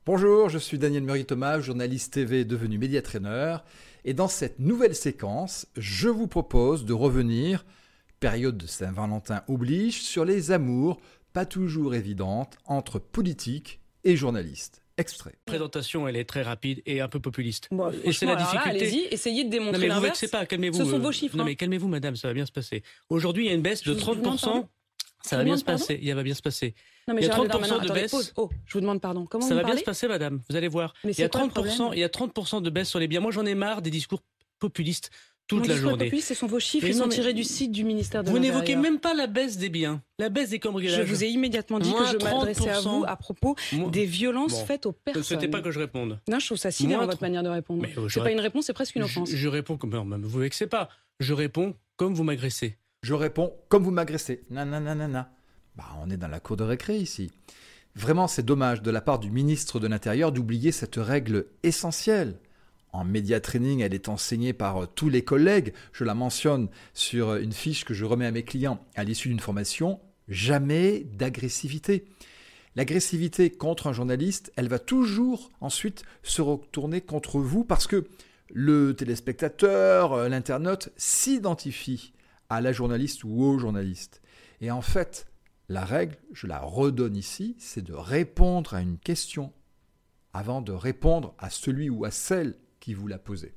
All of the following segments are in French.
Bonjour, je suis Daniel Meury-Thomas, journaliste TV devenu médiatraîner. Et dans cette nouvelle séquence, je vous propose de revenir, période de Saint-Valentin oblige, sur les amours pas toujours évidentes entre politiques et journalistes. Extrait. La présentation, elle est très rapide et un peu populiste. Bon, et c'est la difficulté. Là, allez-y, essayez de démontrer non, mais l'inverse. Vous vexez pas, calmez-vous. Ce sont vos chiffres. Non mais calmez-vous, madame, ça va bien se passer. Aujourd'hui, il y a une baisse de 30%. Ça va bien se passer. Il va bien se passer. Non, mais il y a Gérald 30% Darmanin, de baisse. Pause. Oh, je vous demande pardon. Comment ça vous va parlez bien se passer, madame. Vous allez voir. Mais il y a 30% de baisse sur les biens. Moi, j'en ai marre des discours populistes toute la journée. Ce sont vos chiffres, ils sont tirés du site du ministère de l'Intérieur. Vous n'évoquez même pas la baisse des biens, la baisse des cambriolages. Je vous ai immédiatement dit que je m'adressais à vous à propos des violences faites aux personnes. Ne souhaitez pas que je réponde. Non, je trouve ça si bien votre manière de répondre. C'est pas une réponse, c'est presque une offense. Je réponds comme... Non, vous vexez pas. Je réponds comme vous m'agressez. Je réponds comme vous m'agressez. Nananana. On est dans la cour de récré ici. Vraiment, c'est dommage de la part du ministre de l'Intérieur d'oublier cette règle essentielle. En média training, elle est enseignée par tous les collègues. Je la mentionne sur une fiche que je remets à mes clients à l'issue d'une formation. Jamais d'agressivité. L'agressivité contre un journaliste, elle va toujours ensuite se retourner contre vous parce que le téléspectateur, l'internaute s'identifie à la journaliste ou au journaliste. Et en fait, la règle, je la redonne ici, c'est de répondre à une question avant de répondre à celui ou à celle qui vous l'a posée.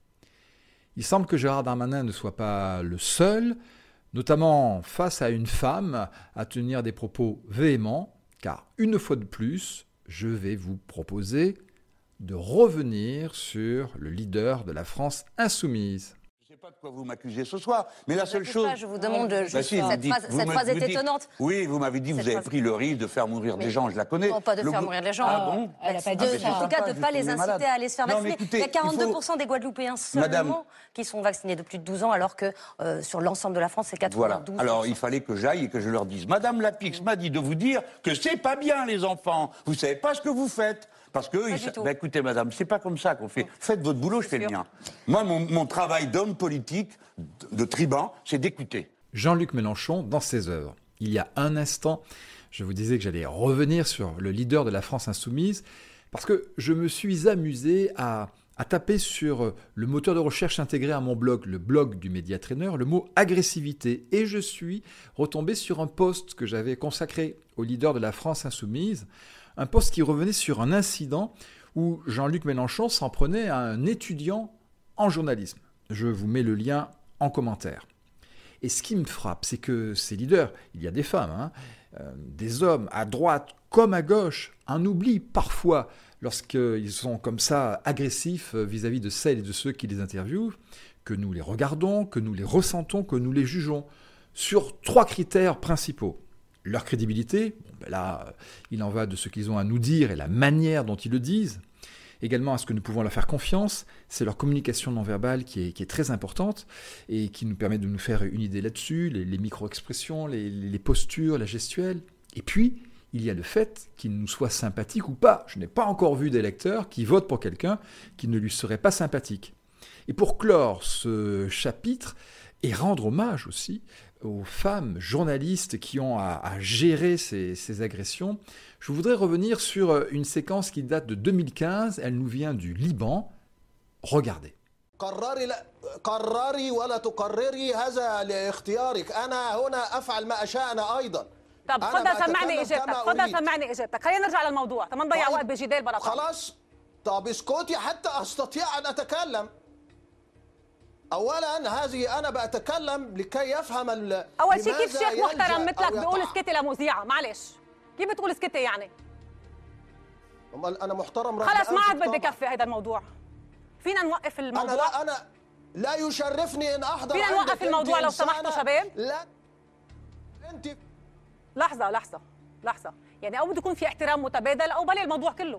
Il semble que Gérald Darmanin ne soit pas le seul, notamment face à une femme, à tenir des propos véhéments, car une fois de plus, je vais vous proposer de revenir sur le leader de la France insoumise. Je ne sais pas de quoi vous m'accusez ce soir, mais la seule chose... Je vous demande cette phrase est étonnante. Oui, vous m'avez dit que vous avez pris le risque de faire mourir des gens, je la connais. Non, pas de faire mourir les gens. Ah bon? Elle a pas dit en tout cas de ne pas les inciter à aller se faire vacciner. Il y a 42% des Guadeloupéens seulement qui sont vaccinés de plus de 12 ans, alors que sur l'ensemble de la France, c'est 92%. Voilà. Alors il fallait que j'aille et que je leur dise. Madame Lapix m'a dit de vous dire que c'est pas bien les enfants. Vous savez pas ce que vous faites. Parce que, écoutez madame, c'est pas comme ça qu'on fait. Faites votre boulot, je fais le mien. Moi, mon travail d'homme politique, de tribun, c'est d'écouter. Jean-Luc Mélenchon, dans ses œuvres. Il y a un instant, je vous disais que j'allais revenir sur le leader de la France insoumise, parce que je me suis amusé à taper sur le moteur de recherche intégré à mon blog, le blog du médiatraîner, le mot agressivité. Et je suis retombé sur un post que j'avais consacré au leader de la France insoumise, un post qui revenait sur un incident où Jean-Luc Mélenchon s'en prenait à un étudiant en journalisme. Je vous mets le lien en commentaire. Et ce qui me frappe, c'est que ces leaders, il y a des femmes, des hommes à droite comme à gauche, en oublient parfois lorsqu'ils sont comme ça agressifs vis-à-vis de celles et de ceux qui les interviewent, que nous les regardons, que nous les ressentons, que nous les jugeons sur 3 critères principaux. Leur crédibilité, là, il en va de ce qu'ils ont à nous dire et la manière dont ils le disent. Également, à ce que nous pouvons leur faire confiance, c'est leur communication non verbale qui est très importante et qui nous permet de nous faire une idée là-dessus, les micro-expressions, les postures, la gestuelle. Et puis, il y a le fait qu'ils nous soient sympathiques ou pas. Je n'ai pas encore vu d'électeurs qui votent pour quelqu'un qui ne lui serait pas sympathique. Et pour clore ce chapitre et rendre hommage aussi aux femmes journalistes qui ont à gérer ces agressions, je voudrais revenir sur une séquence qui date de 2015. Elle nous vient du Liban. Regardez. قرري ولا تقرري هذا لاختيارك أنا هنا أفعل ما أشاء أنا أيضا. طب تفضل سمعني اجابتك، تفضل سمعني اجابتك، خلينا نرجع للموضوع، ما نضيع وقت بجدال بلا طعم. خلاص طب اسكتي حتى أستطيع أن أتكلم. أولا هذه أنا بأتكلم لكي يفهم أول شيء كيف شيخ محترم مثلك بيقول اسكتي لمذيعة؟ معلش كيف بتقول اسكتي يعني؟ أنا محترم. خلص ما عاد بدي كفي هذا الموضوع. فينا نوقف الموضوع؟ أنا لا يشرفني إن أحضر. فينا نوقف الموضوع لو سمحتوا شباب؟ لا أنت لحظة يعني أو بده يكون في احترام متبادل أو بلي الموضوع كله.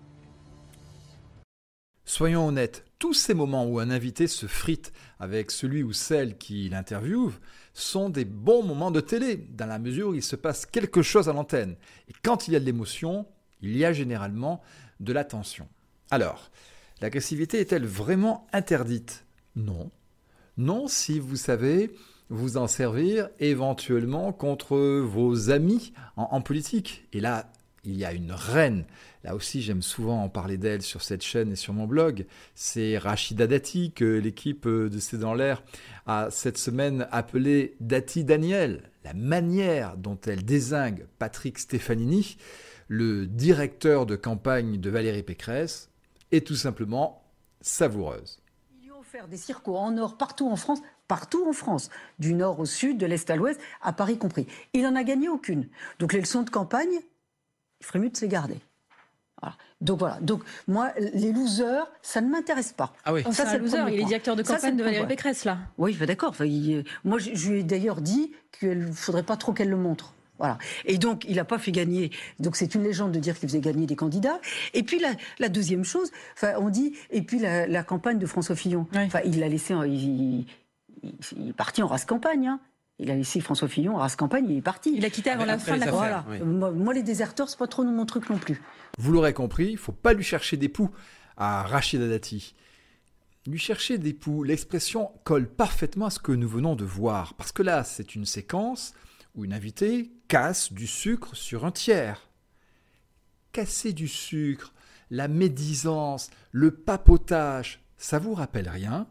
Soyons honnêtes, tous ces moments où un invité se frite avec celui ou celle qui l'interviewe sont des bons moments de télé, dans la mesure où il se passe quelque chose à l'antenne. Et quand il y a de l'émotion, il y a généralement de la tension. Alors, l'agressivité est-elle vraiment interdite ? Non. Non, si vous savez vous en servir éventuellement contre vos amis en politique. Et là, il y a une reine. Là aussi, j'aime souvent en parler d'elle sur cette chaîne et sur mon blog. C'est Rachida Dati, que l'équipe de C'est dans l'air a cette semaine appelée Dati Daniel. La manière dont elle dézingue Patrick Stefanini, le directeur de campagne de Valérie Pécresse, est tout simplement savoureuse. Ils lui ont offert des circos en or partout en France, du nord au sud, de l'est à l'ouest, à Paris compris. Il n'en a gagné aucune. Donc les leçons de campagne, il ferait mieux de se les garder. Voilà. Donc moi, les losers, ça ne m'intéresse pas. Ah oui. Ça, c'est un loser. Il est directeur de campagne de Valérie Pécresse, là. Oui, d'accord. Enfin, moi, je lui ai d'ailleurs dit qu'il ne faudrait pas trop qu'elle le montre. Voilà. Et donc, il n'a pas fait gagner. Donc, c'est une légende de dire qu'il faisait gagner des candidats. Et puis, la deuxième chose, on dit, et puis la campagne de François Fillon. Oui. Il l'a laissé, il est parti en race campagne. Hein. Il a laissé François Fillon en race campagne, il est parti. Il a quitté avant la fin de la campagne. Voilà. Oui. Moi, les déserteurs, c'est pas trop mon truc non plus. Vous l'aurez compris, il ne faut pas lui chercher des poux à Rachida Dati. Lui chercher des poux, l'expression colle parfaitement à ce que nous venons de voir. Parce que là, c'est une séquence où une invitée casse du sucre sur un tiers. Casser du sucre, la médisance, le papotage, ça vous rappelle rien?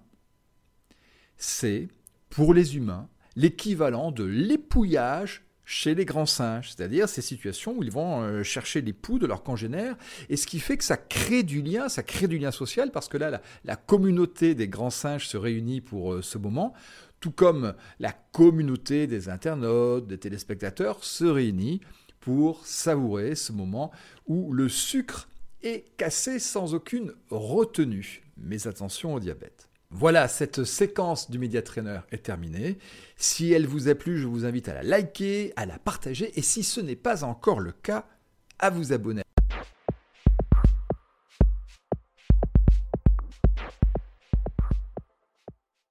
C'est, pour les humains, l'équivalent de l'épouillage chez les grands singes, c'est-à-dire ces situations où ils vont chercher les poux de leurs congénères, et ce qui fait que ça crée du lien social, parce que là, la communauté des grands singes se réunit pour ce moment, tout comme la communauté des internautes, des téléspectateurs se réunit pour savourer ce moment où le sucre est cassé sans aucune retenue. Mais attention au diabète. Voilà, cette séquence du Media Trainer est terminée. Si elle vous a plu, je vous invite à la liker, à la partager et si ce n'est pas encore le cas, à vous abonner.